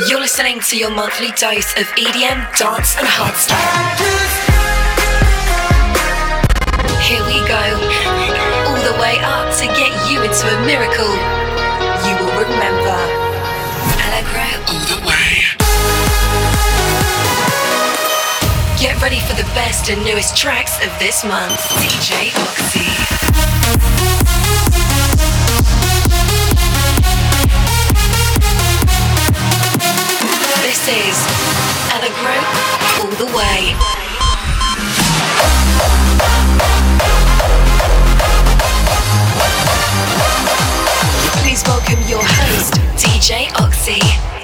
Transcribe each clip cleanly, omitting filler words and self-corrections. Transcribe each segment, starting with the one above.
You're listening to your monthly dose of EDM, dance and hardstyle. Here we go, all the way up to get you into a miracle you will remember. Allegro all the way. Get ready for the best and newest tracks of this month. DJ Oxy. This is Allegro all the way. Please welcome your host, DJ Oxy.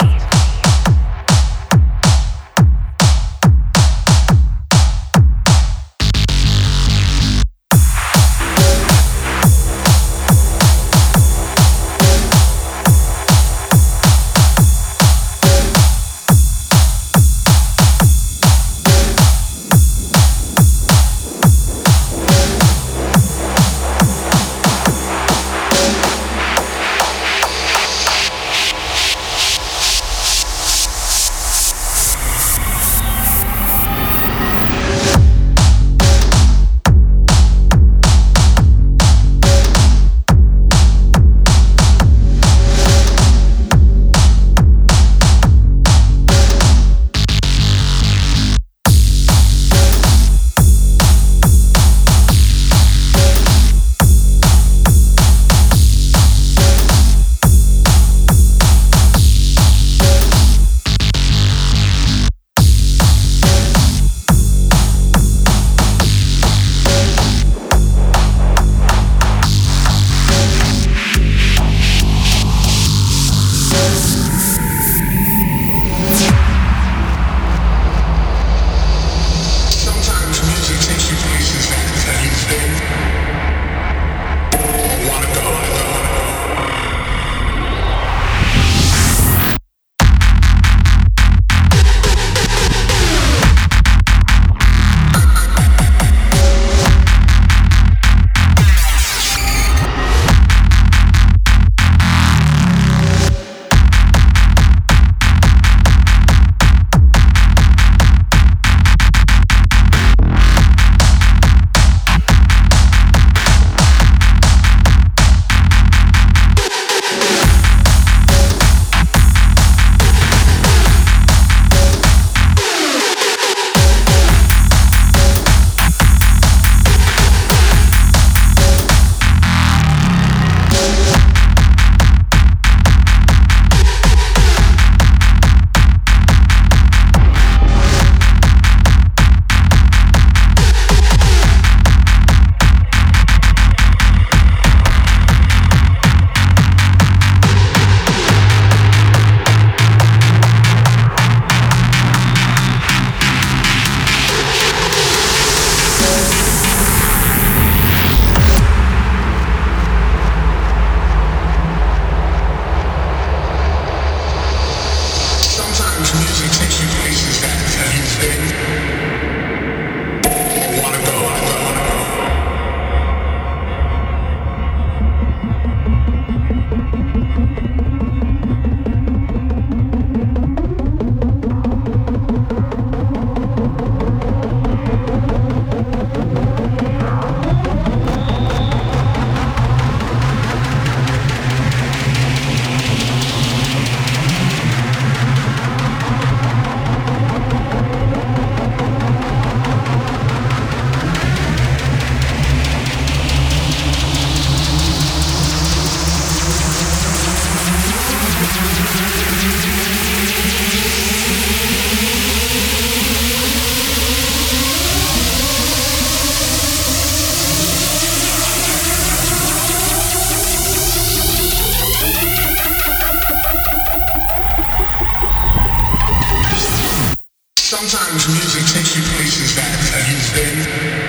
Sometimes music takes you places that you've been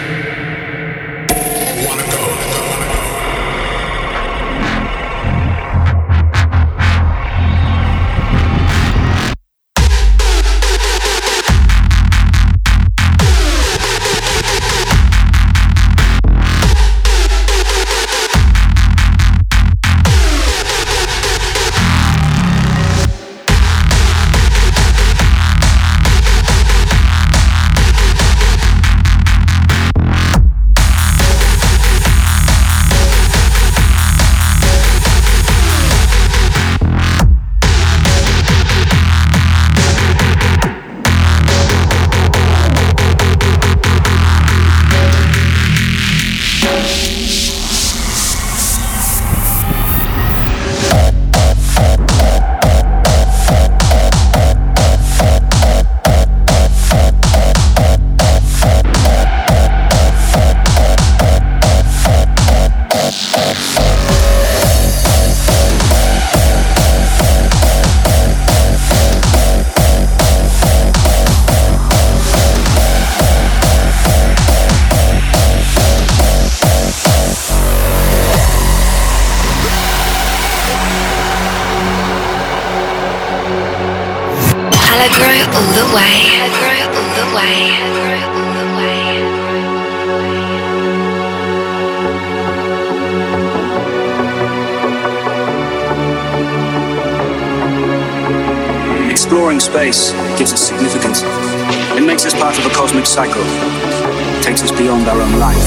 or wanna go. Allegro all the way. Allegro all the way. Allegro all the way. Exploring space gives us significance. It makes us part of a cosmic cycle. It takes us beyond our own life.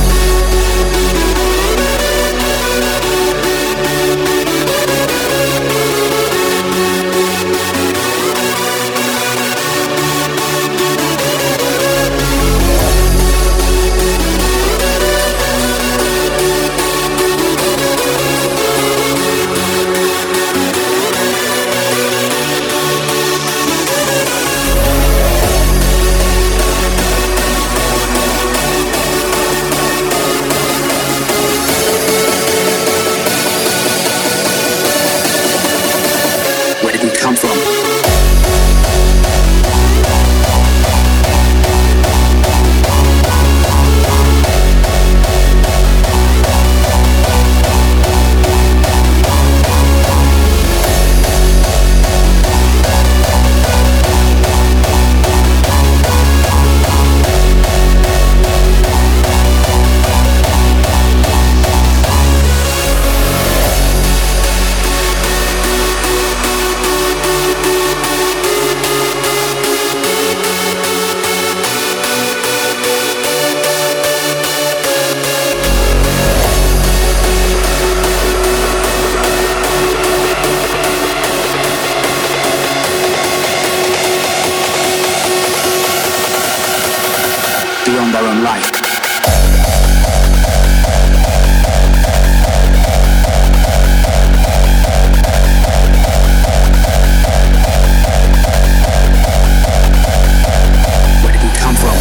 Come from. Beyond our own life. Where did we come from?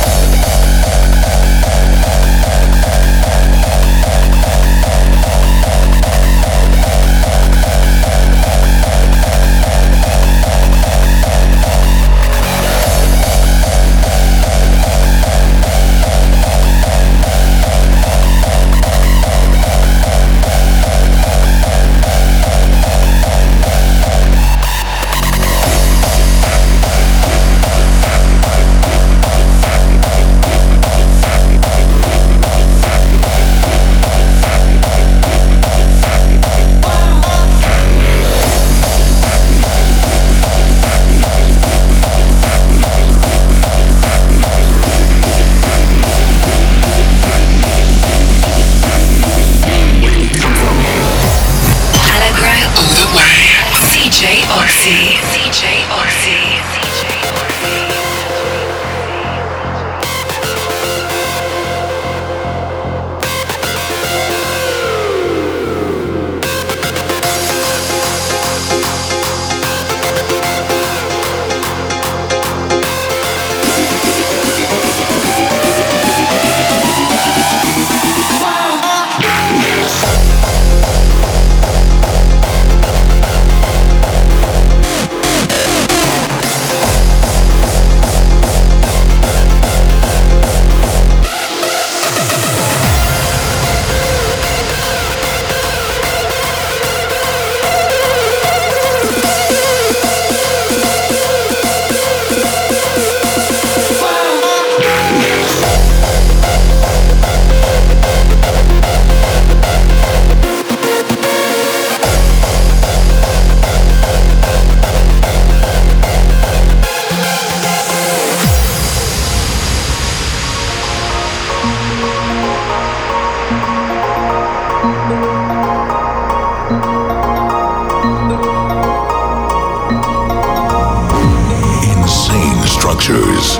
structures,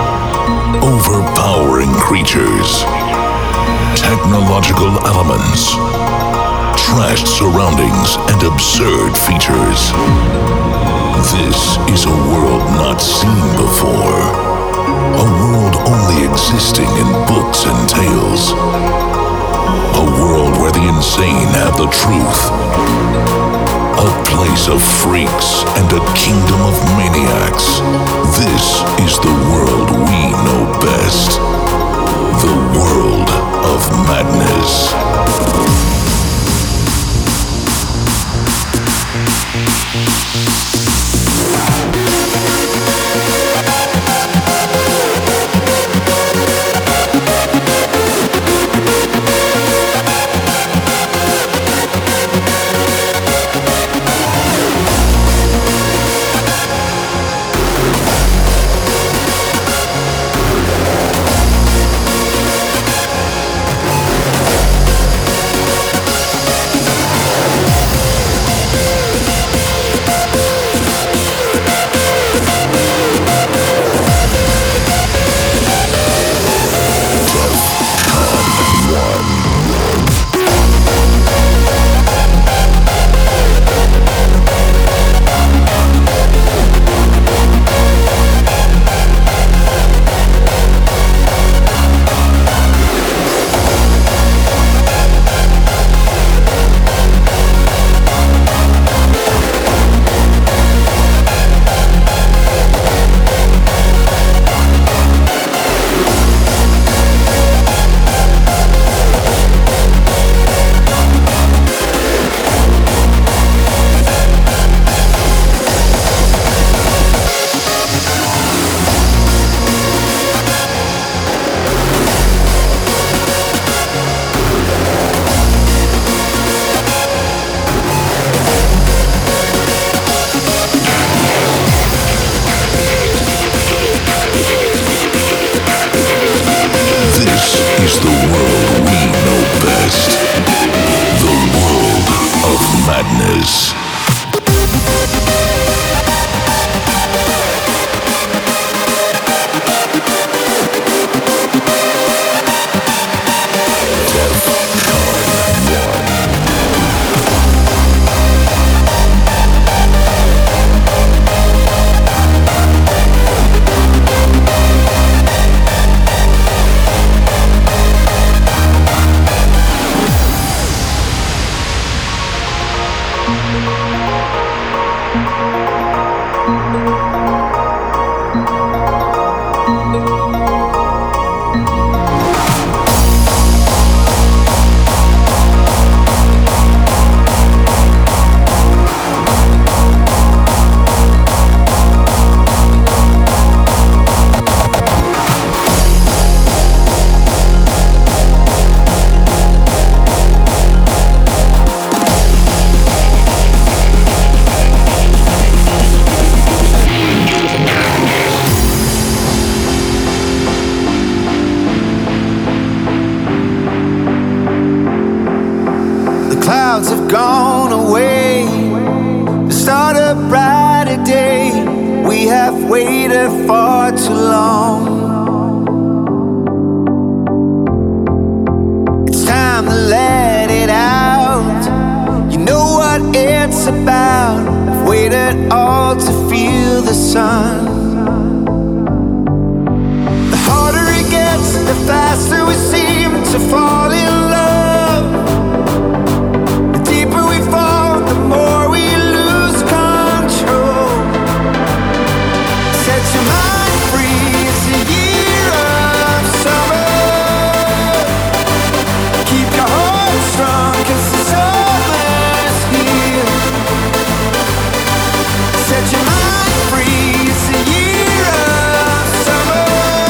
overpowering creatures, technological elements, trashed surroundings, and absurd features. This is a world not seen before. A world only existing in books and tales. A world where the insane have the truth. A place of freaks and a kingdom of maniacs. This is the world we know best. The world of madness. brighter day. We have waited far too long. It's time to let it out. You know what it's about. I've waited all to feel the sun. The harder it gets, the faster we seem to fall in love. The deeper we fall, the more we lose control. Set your mind free, it's a year of summer. Keep your heart strong, 'cause the summer's here. Set your mind free, it's a year of summer.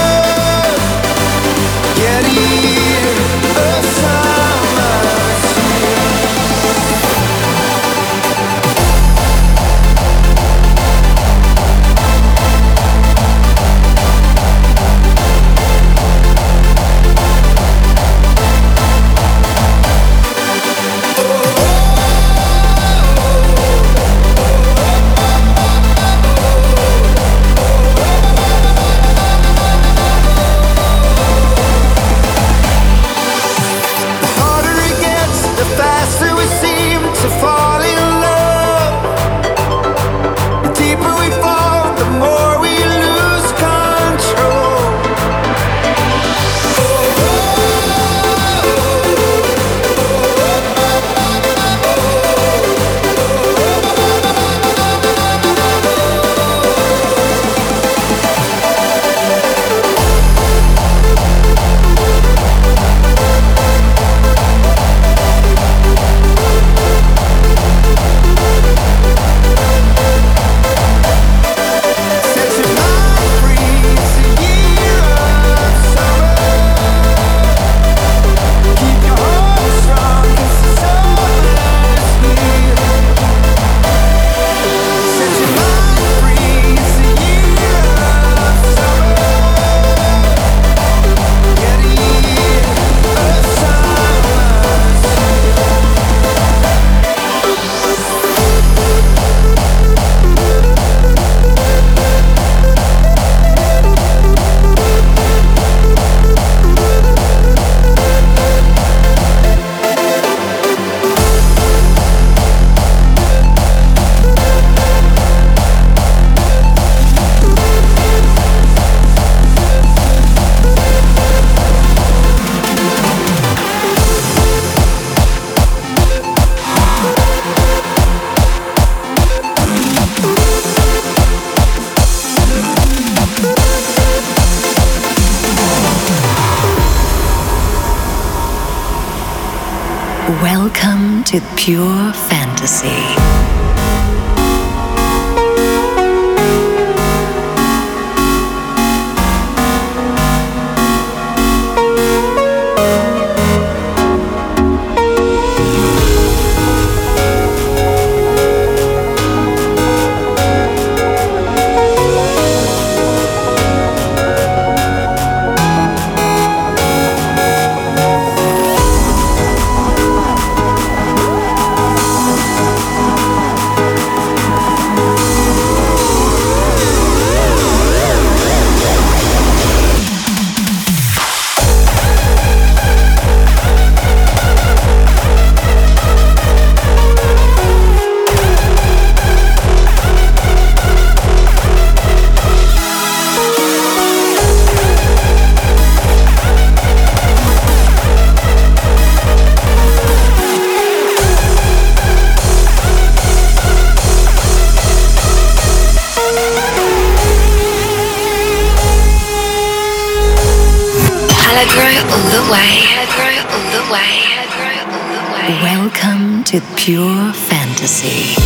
Yeah, the year of summer's here. The harder it gets, the faster we seem to fall in love. The deeper we fall, the more we lose control. Set your mind free, it's a year of summer. Keep your heart strong, 'cause the summer's here. Set your mind free, it's a year of summer. Yeah, the year of summer's Welcome to Pure Fantasy. Welcome to Pure Fantasy.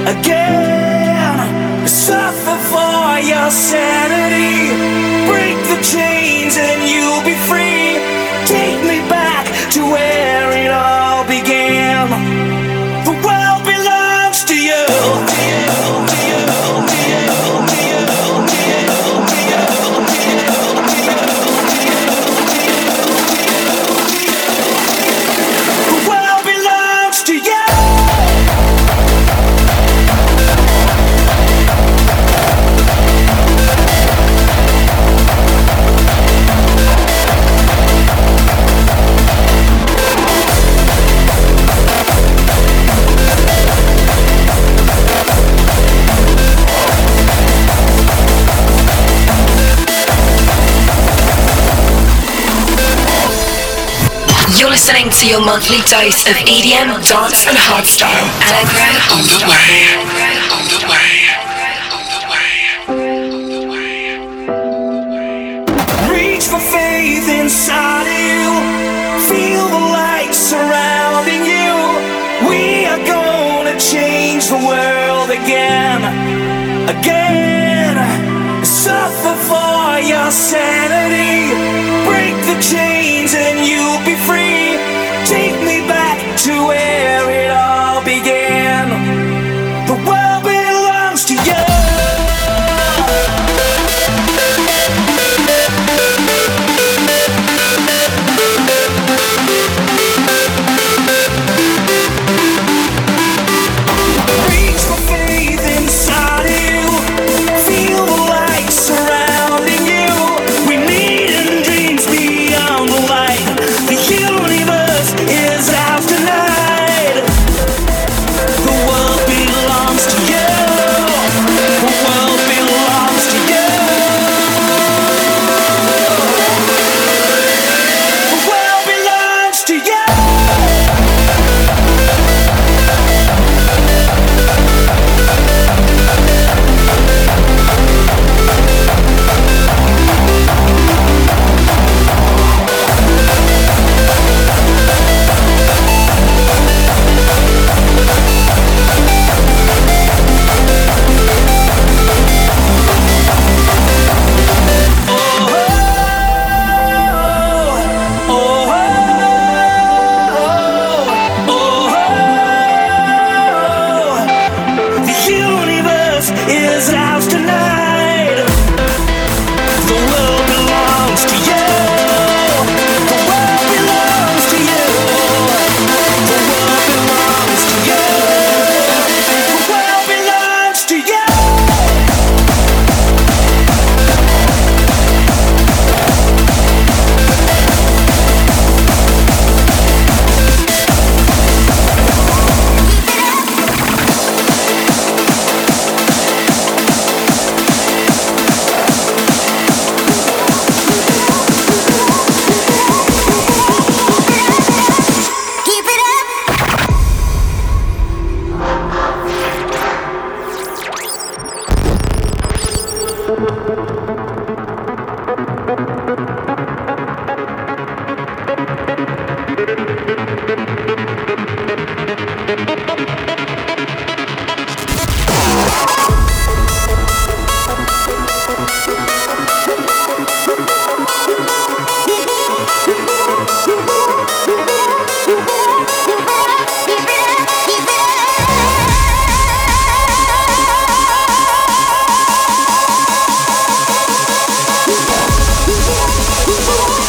again. Suffer for your sanity. Break the chains and you'll be free. Take me back to where it all began. The world belongs to you. The world belongs to you. You're listening to your monthly dose of EDM, dance and hardstyle. Allegro on the way. On the way. Reach for faith inside of you. Feel the light surrounding you. We are gonna change the world again. Again. Suffer for your sanity. Break the chains and you'll be free. Take me back to where it all began. The world belongs to you. Reach for faith inside of you. Feel the light surrounding you. We need and dreams beyond the light. The universe is ours tonight. The world belongs to you. The world belongs to you. The world belongs to you. The universe is ours tonight. The world belongs to you. The world belongs to you. The world belongs to you. The world belongs to you. Keep it up.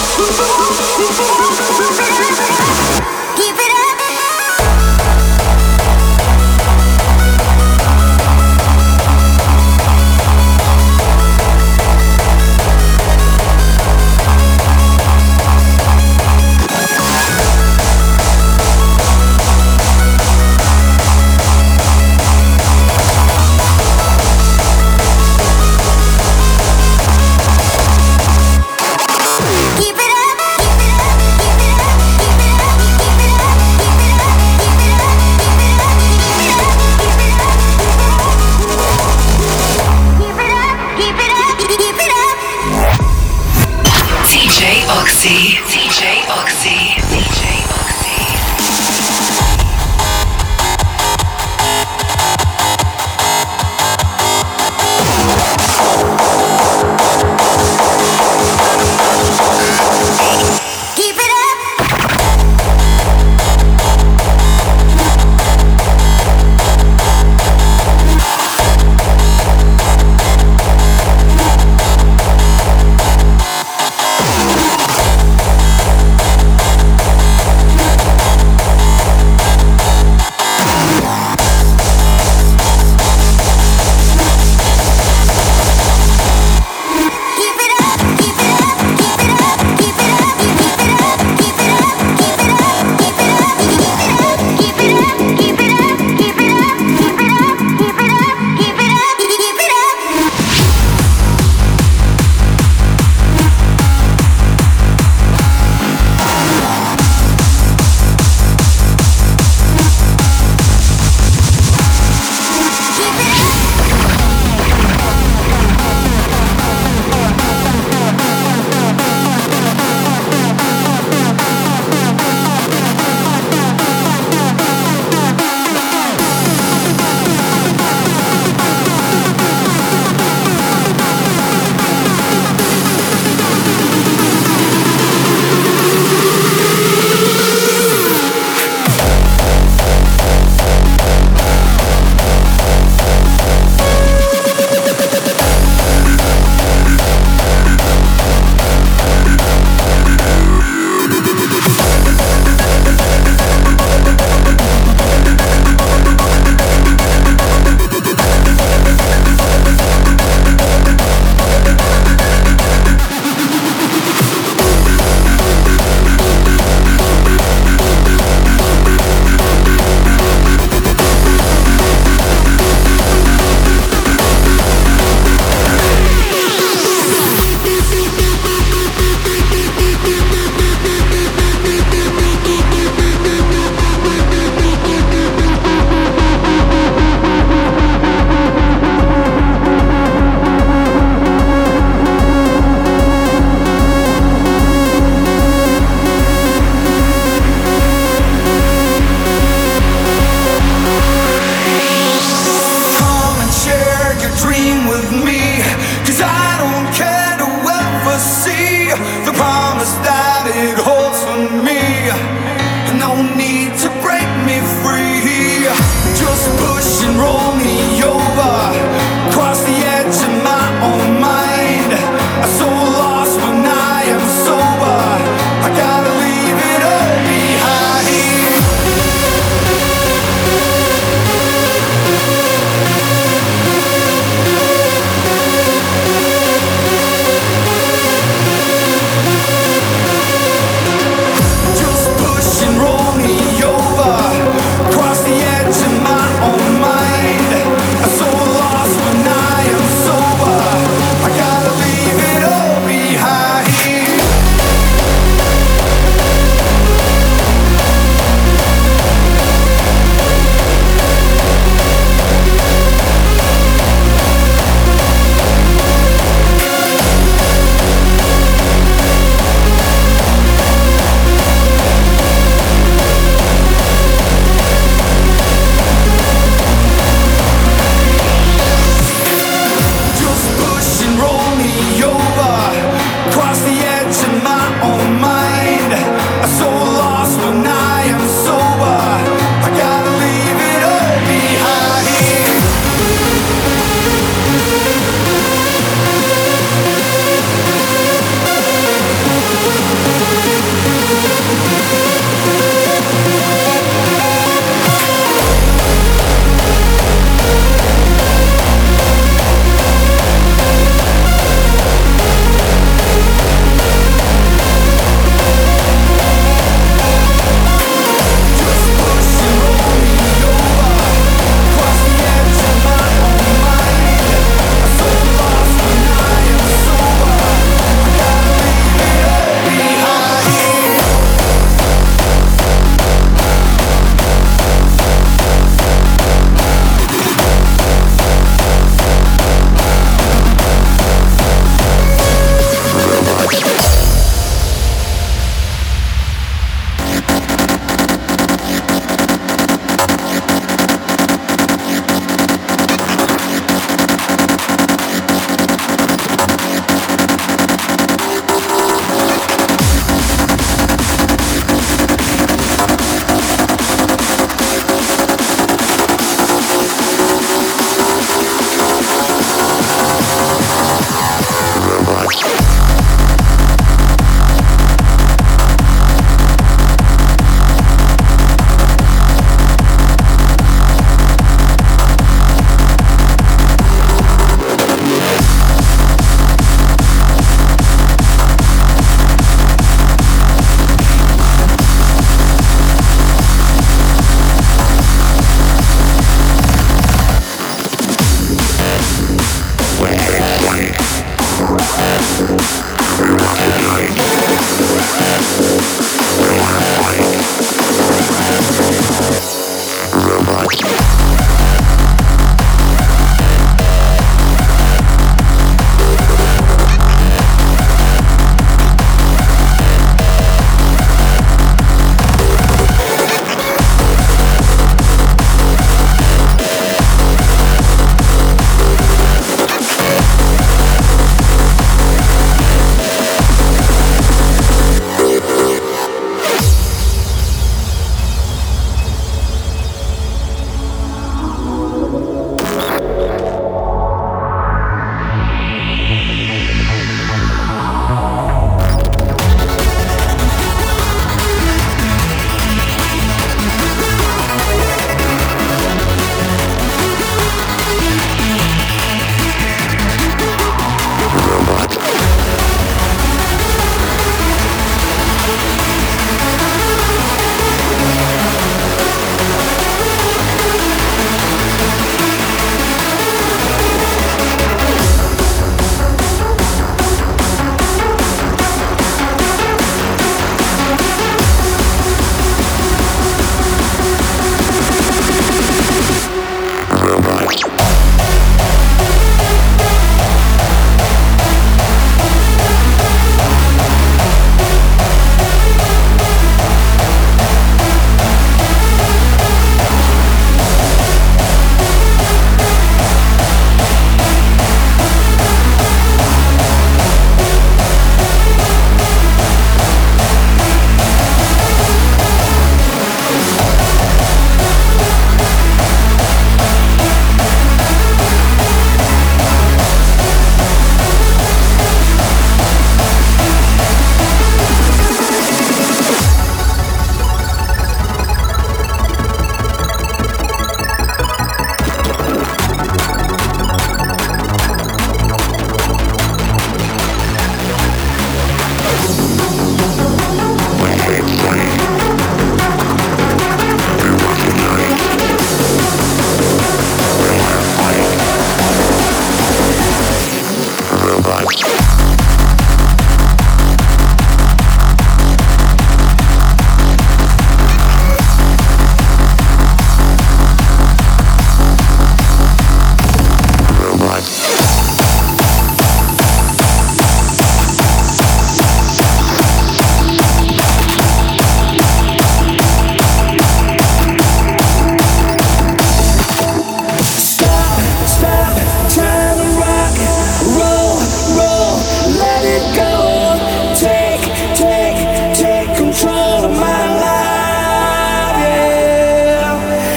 Keep it up.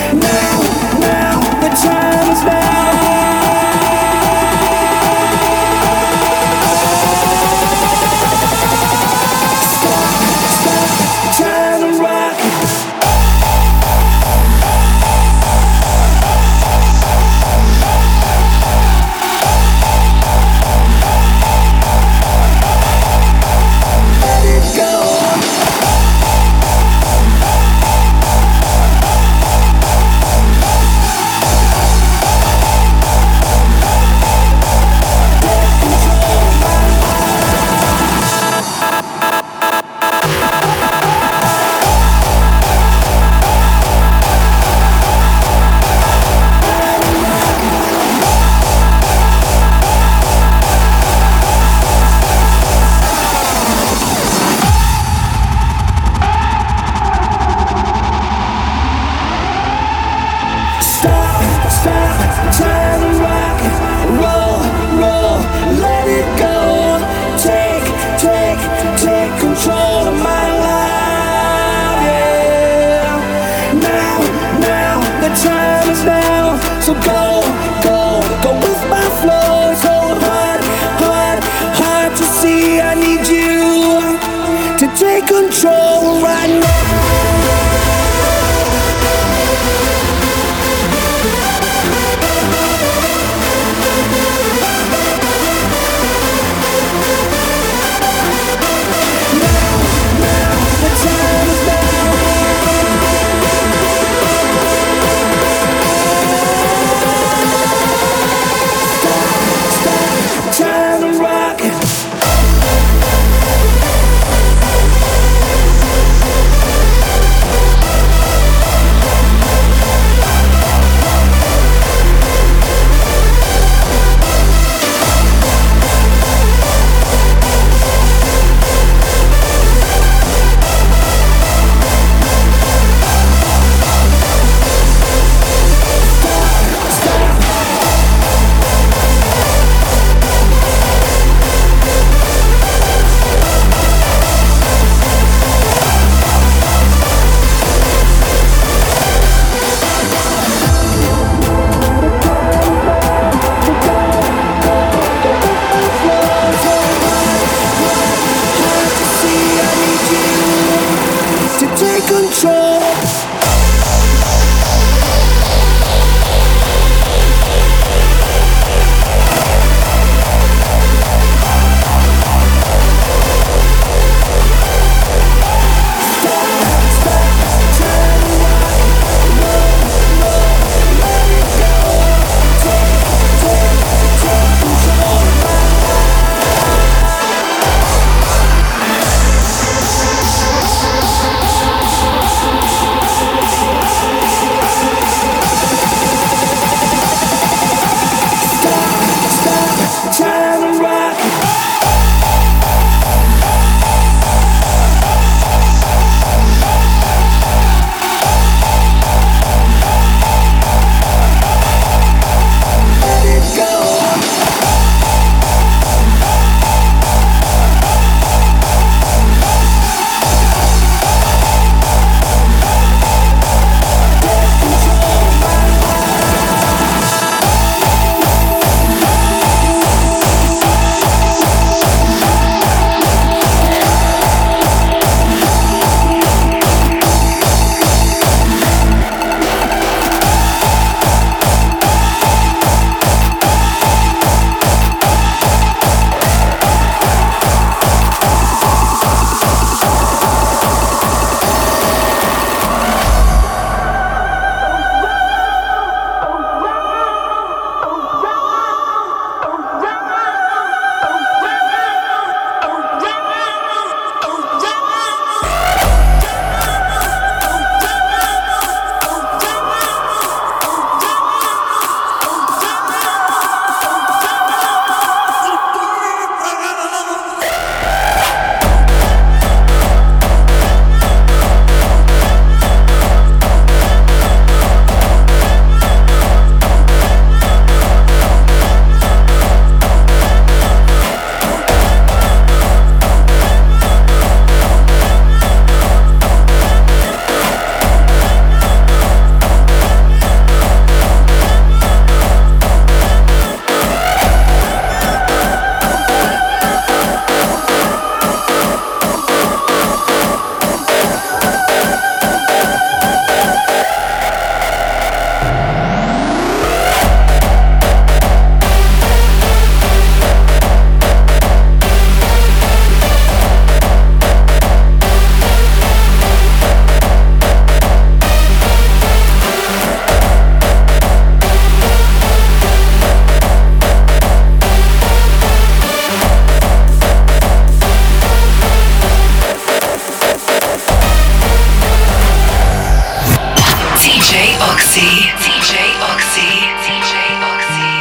Now, the time is Stop, time to rock. Let it go. Stop, time to rock, roll, let it go. Take control of my life, yeah. Now, the time is now. So go with my flow. It's so hard to see. I need you to take control right now. Oxy, DJ Oxy, DJ Oxy.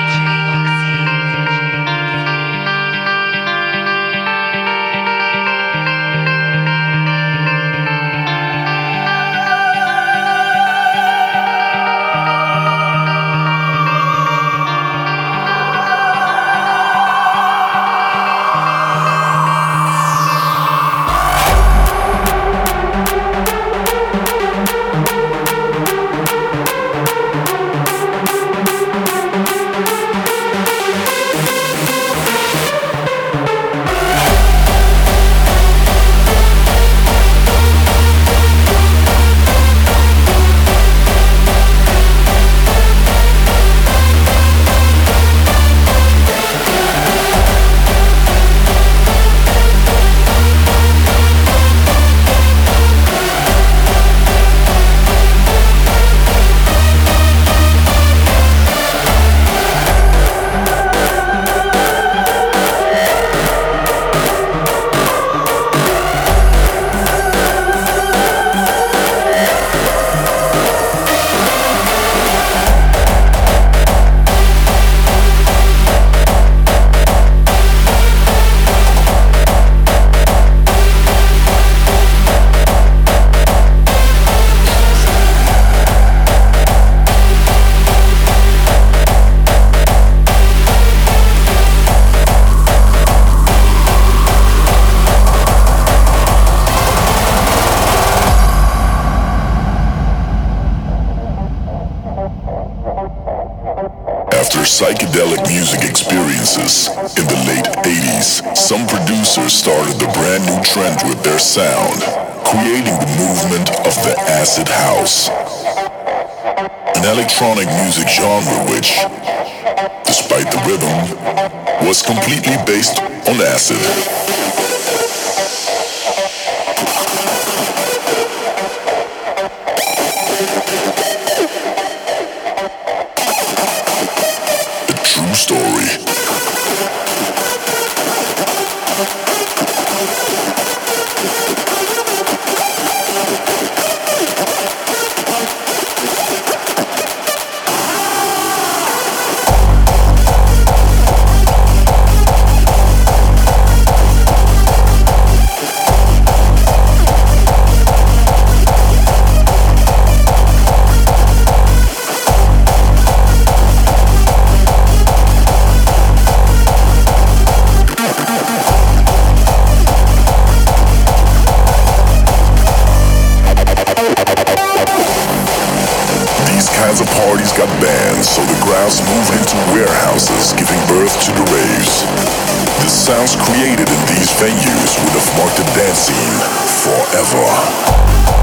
Psychedelic music experiences in the late 80s, some producers started the brand new trend with their sound, creating the movement of the acid house, an electronic music genre which, despite the rhythm, was completely based on acid. Story. Parties got banned, so the grounds moved into warehouses, giving birth to the raves. The sounds created in these venues would have marked the dance scene forever.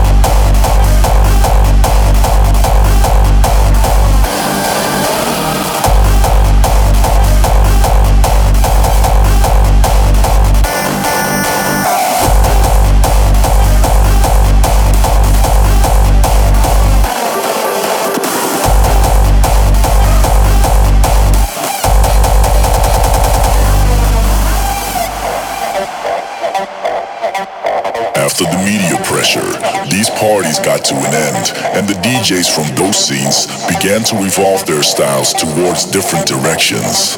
After the media pressure, these parties got to an end, and the DJs from those scenes began to evolve their styles towards different directions.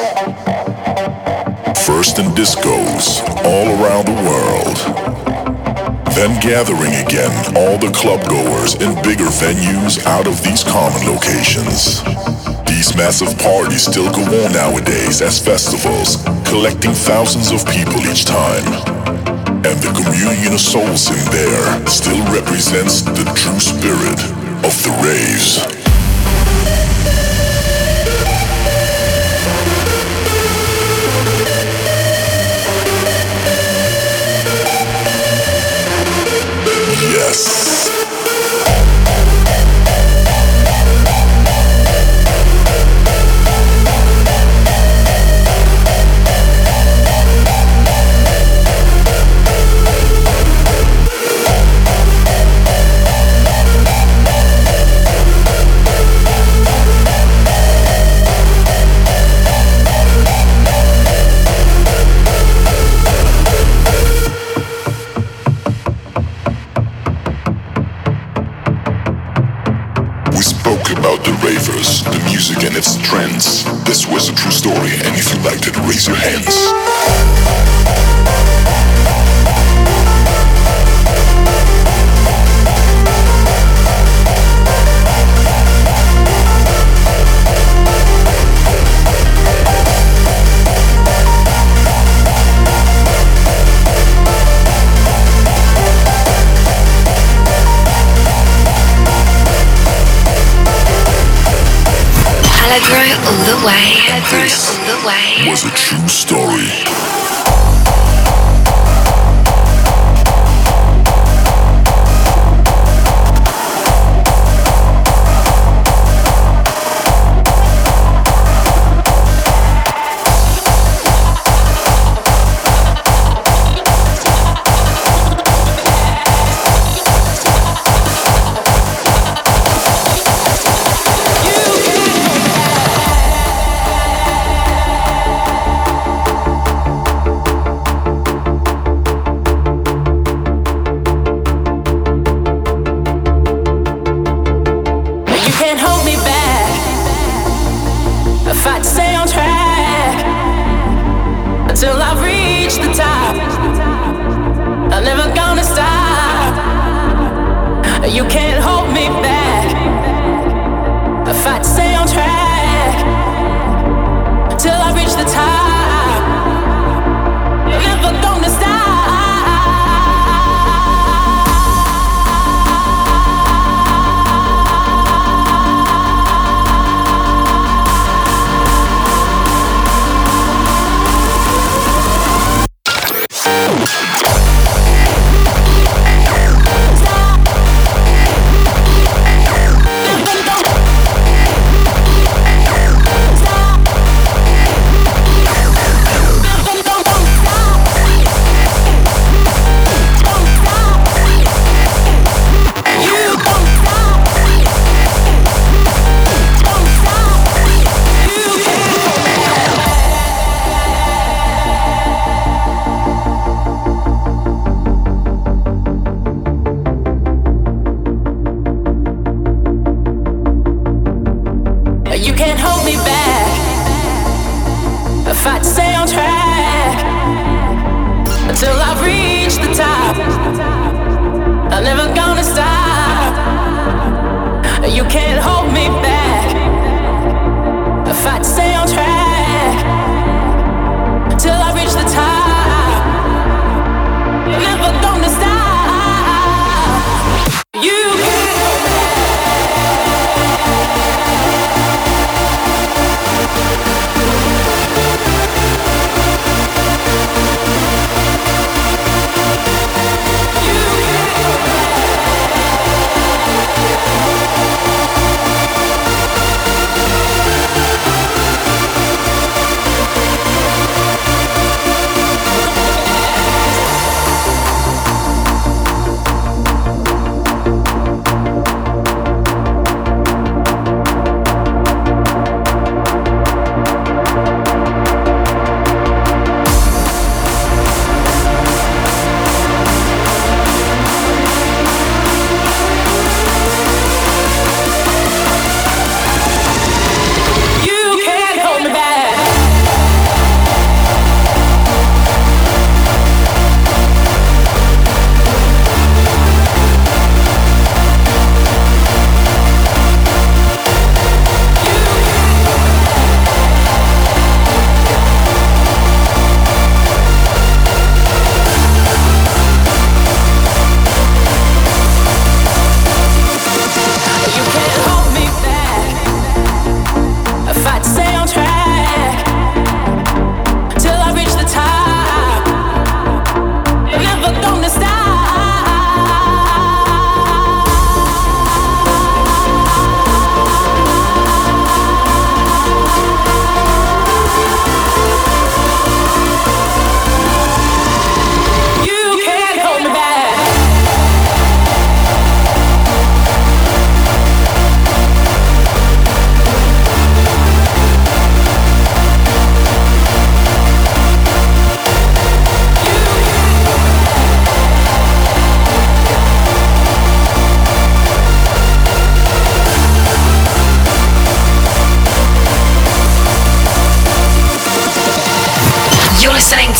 First in discos, all around the world. Then gathering again all the club goers in bigger venues out of these common locations. These massive parties still go on nowadays as festivals, collecting thousands of people each time. And the communion of souls in there still represents the true spirit of the raves. Yes. We spoke about the ravers, the music and its trends. This was a true story, and if you liked it, raise your hands. Allegro all the way. This was a true story.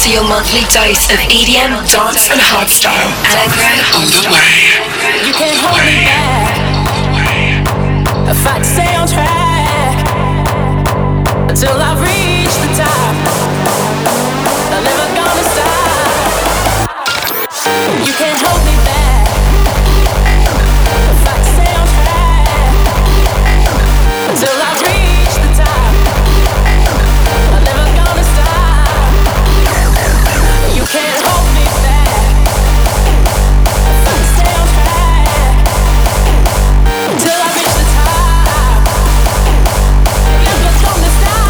for your monthly dose of EDM, dance and hardstyle. Allegro on the way. You can't hold me back. I fight to stay on track until I reach the top. I'm never gonna stop. You can't hold me back. I fight to stay on track until I reach the top. I'm never gonna stop. You can't hold me back. I fight to stay on track until I reach the top. I'm never gonna stop.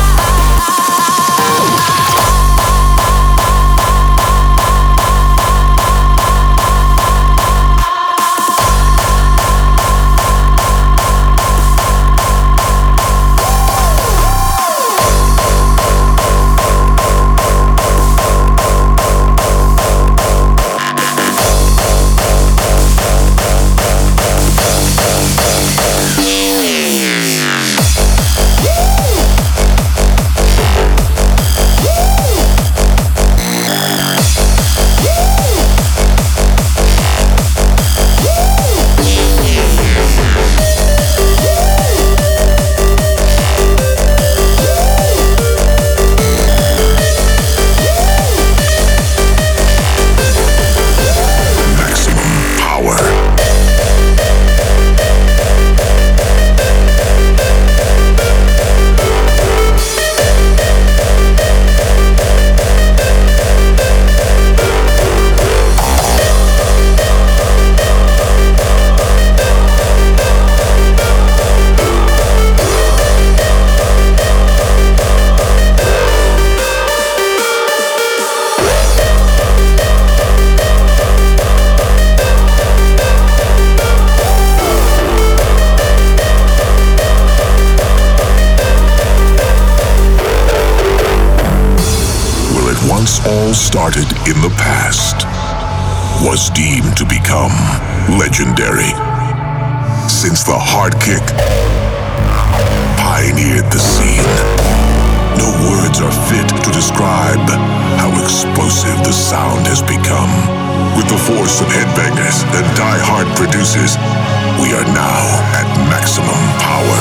Started in the past, was deemed to become legendary. Since the hard kick pioneered the scene, no words are fit to describe how explosive the sound has become. With the force of headbangers and die-hard producers, we are now at maximum power.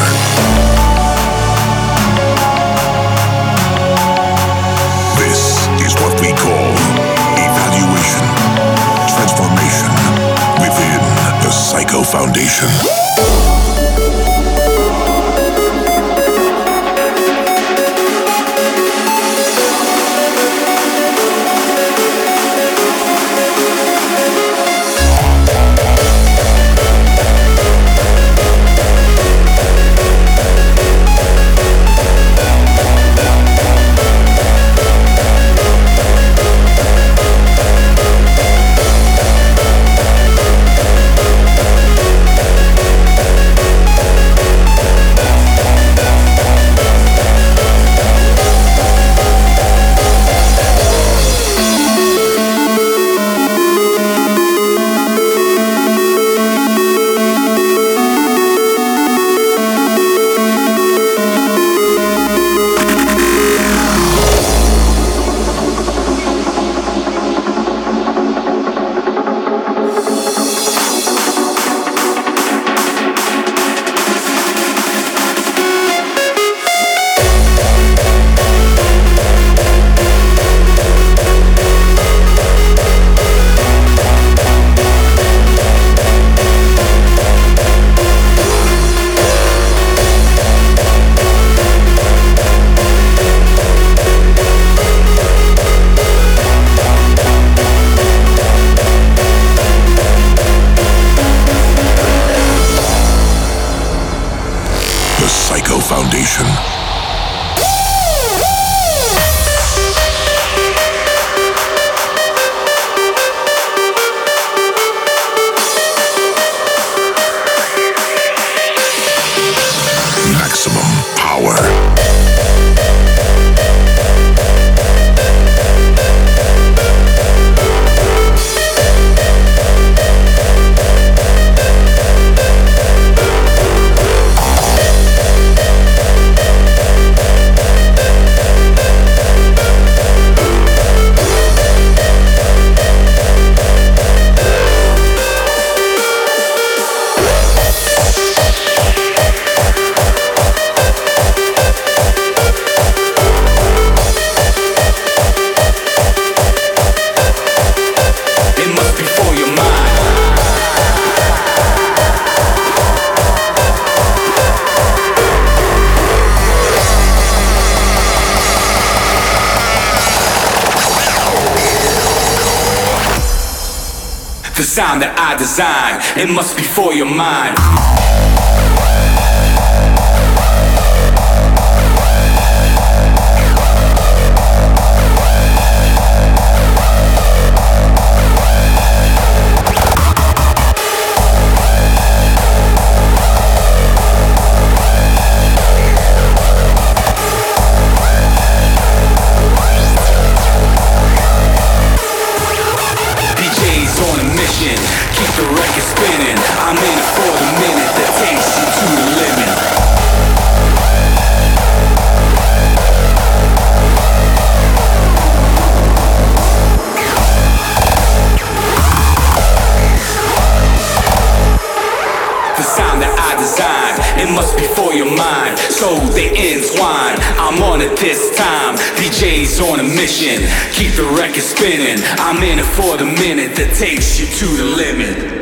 This is what we call evaluation, transformation within the Psycho Foundation. Foundation. Maximum power. The sound that I design, it must be for your mind. Keep the record spinning. I'm in it for the minute that takes you to the limit. The sound that I design, it must be for your mind, so they entwine. I'm on it this time, DJ's on a mission. Keep the record spinning. I'm in it for the minute that takes you to the limit.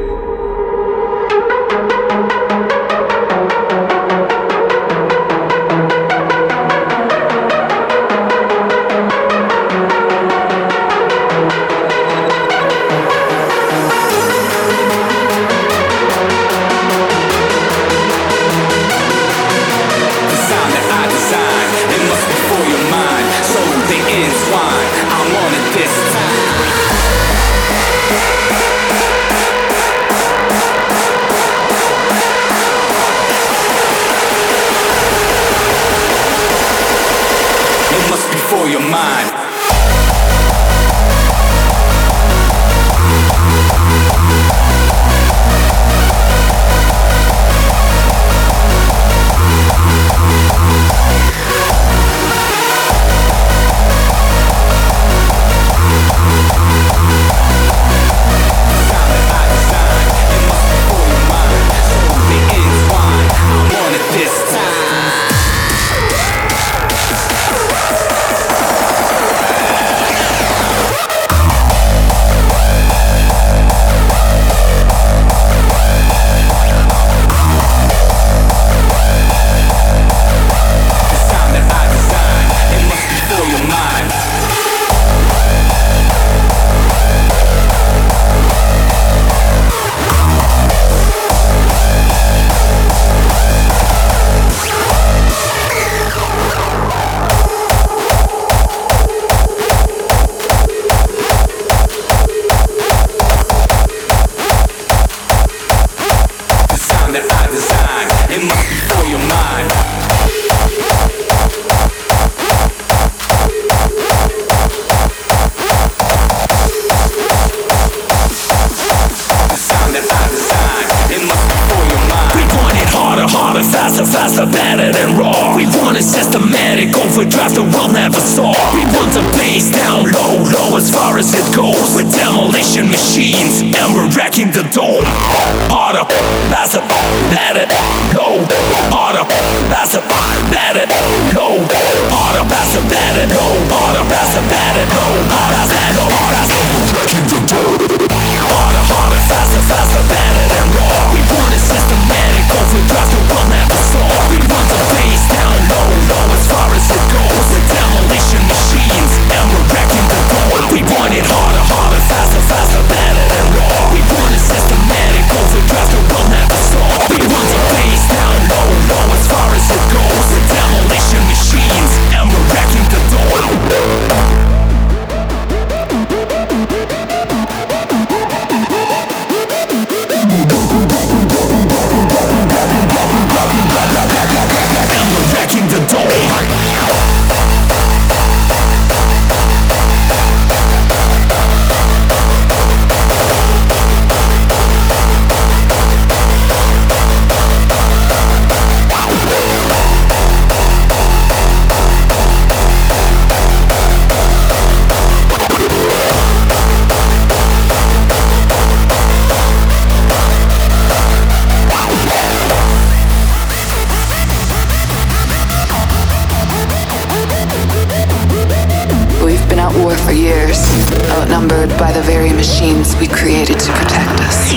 outnumbered by the very machines we created to protect us.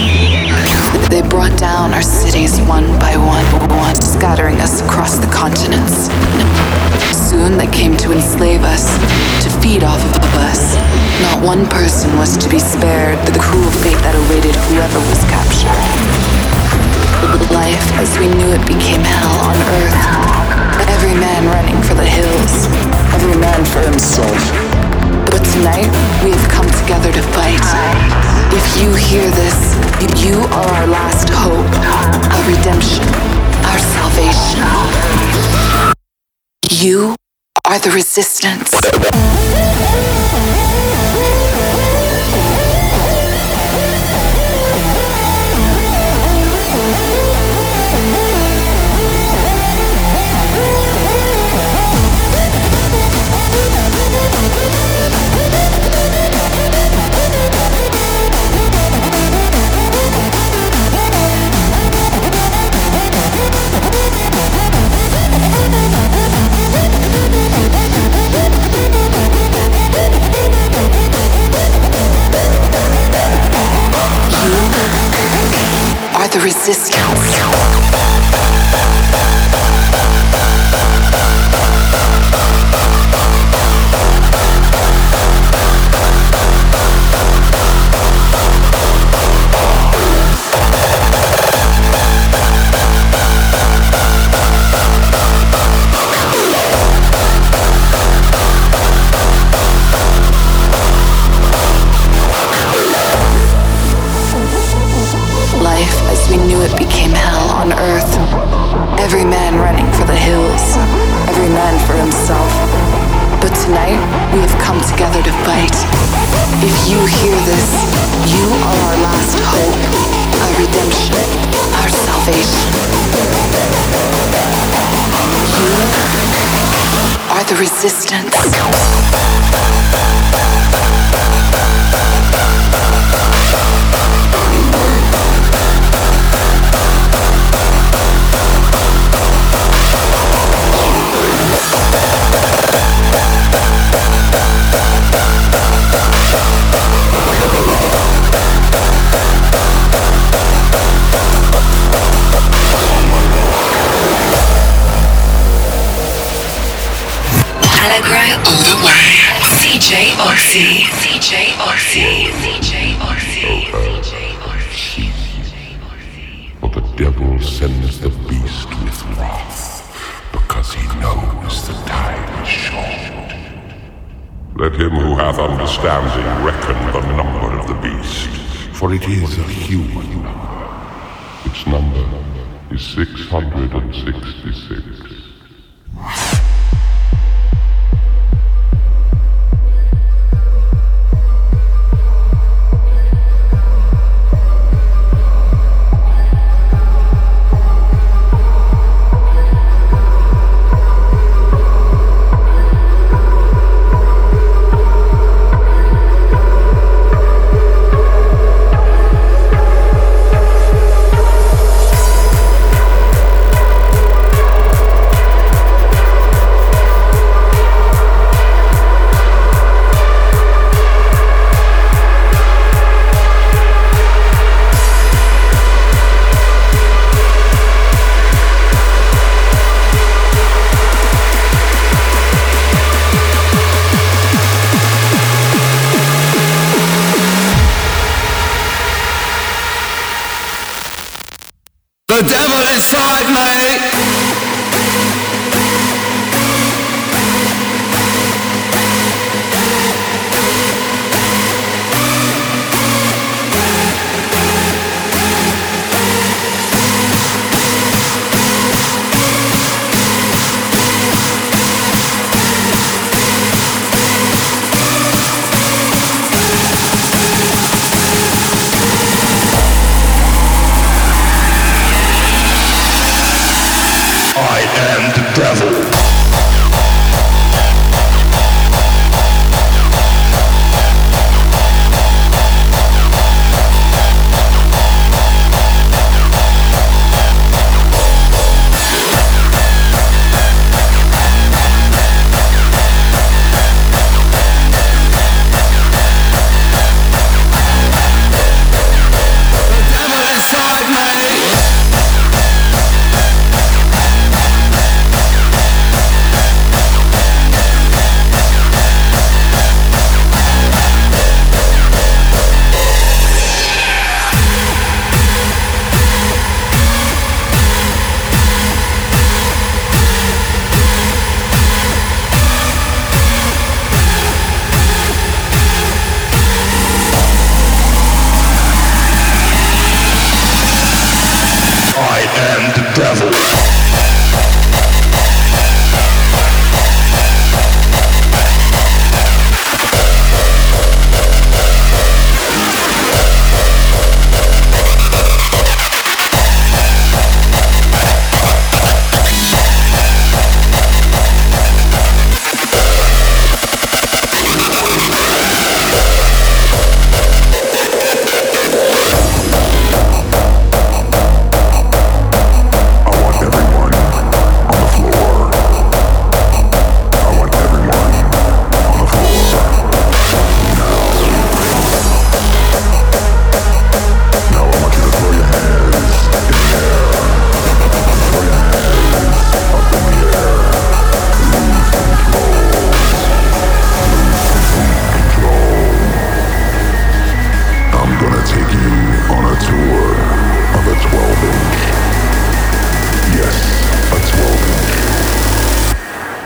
They brought down our cities one by one, scattering us across the continents. Soon they came to enslave us, to feed off of us. Not Not one person was to be spared the cruel fate that awaited whoever was captured. Life as we knew it became hell on earth. Every man running for the hills, every man for himself. But tonight, we have come together to fight. If you hear this, you are our last hope, our redemption, our salvation. You are the resistance. The resistance. We knew it became hell on earth. Every man running for the hills, every man for himself. But tonight, we have come together to fight. If you hear this, you are our last hope, our redemption, our salvation. You are the resistance. Allegro all the way. CJ Oxy. CJ Oxy. CJ Oxy. For the devil sends the beast with wrath, because he knows the time is short. Let him who hath understanding reckon the number of the beast, for it is a human number. Its number is 666. The devil inside me.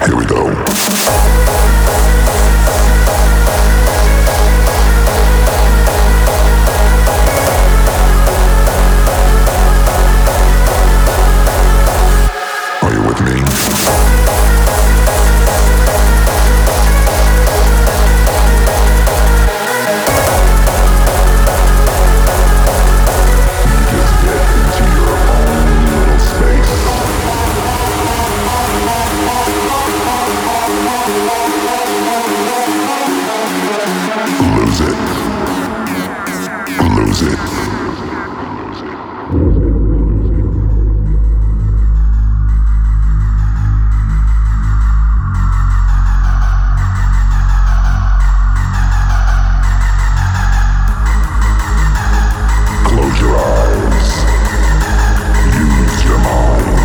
Here we go. Are you with me? Lose it. Close your eyes. Use your mind.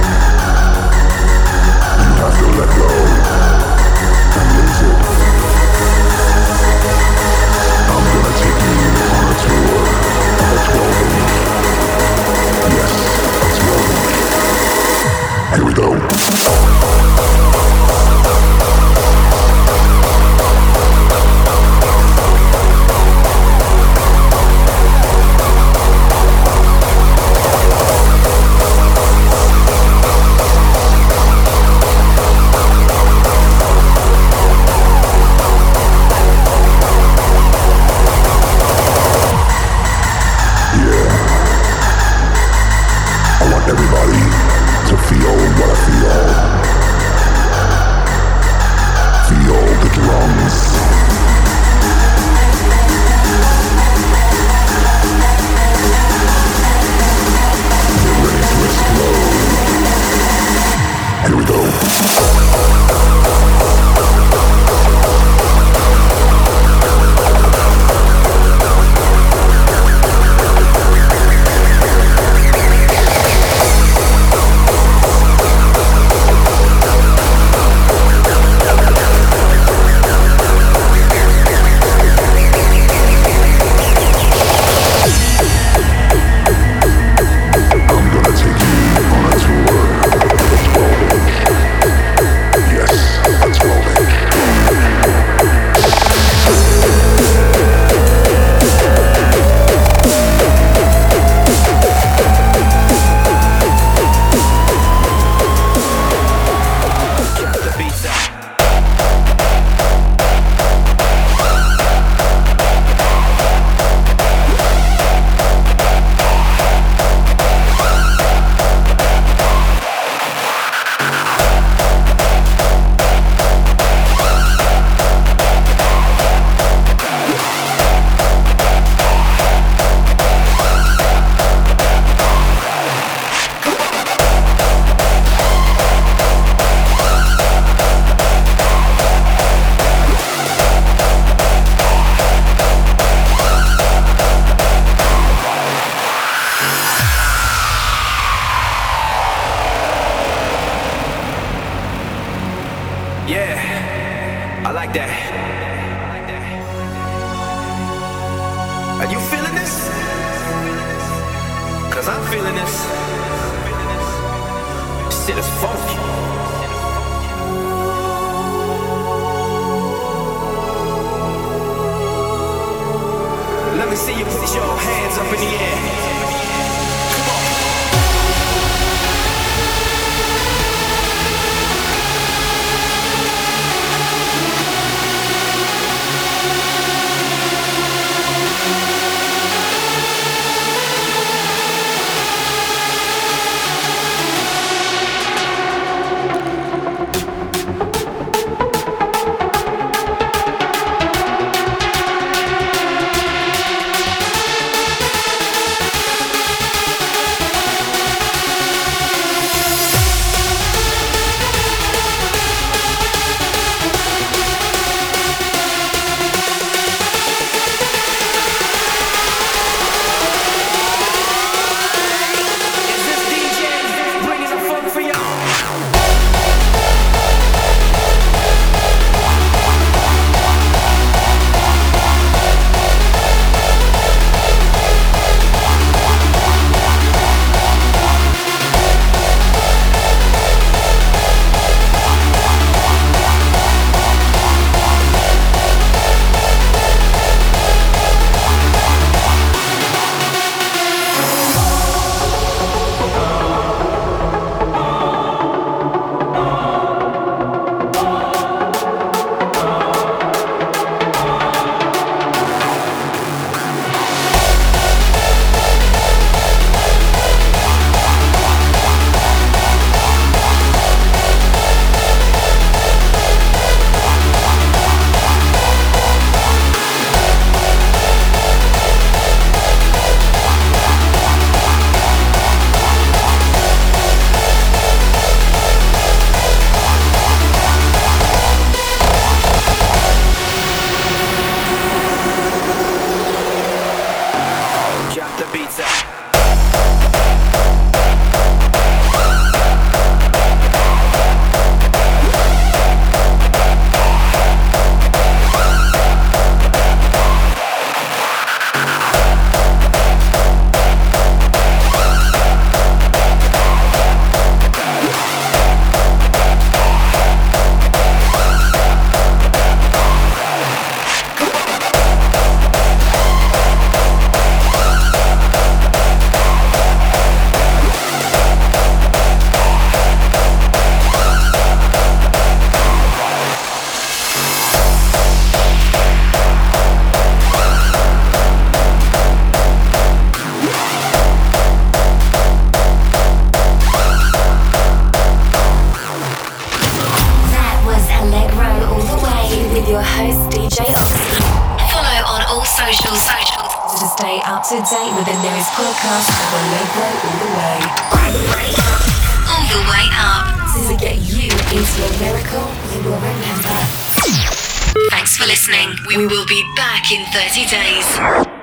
You have to let go and lose it. I'm gonna take you on a tour of a 12-inch. Yes, a 12-inch. Here we go. Everybody to feel what I feel. Feel the drums. Get ready to explode. Here we go. is DJ Oxy. Follow on all socials to stay up to date with the newest podcast of Allegro All the Way. All the way up. To get you into a miracle you will remember. Thanks for listening. We will be back in 30 days.